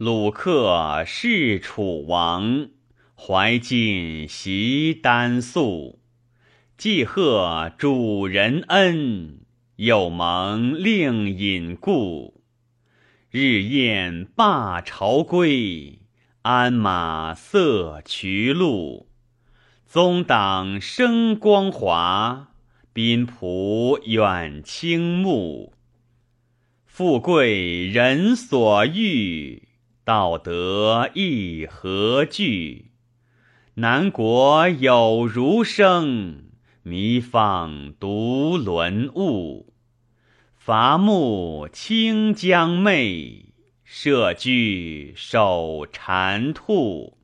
鲁克是楚王，怀晋袭丹粟。既贺主人恩，又蒙令尹故。日宴罢朝归，鞍马色衢路。宗党生光华，宾仆远倾慕。富贵人所欲，道德亦何惧？南国有儒生，弥放独沦误。伐木清江媚，社稷守蟾兔。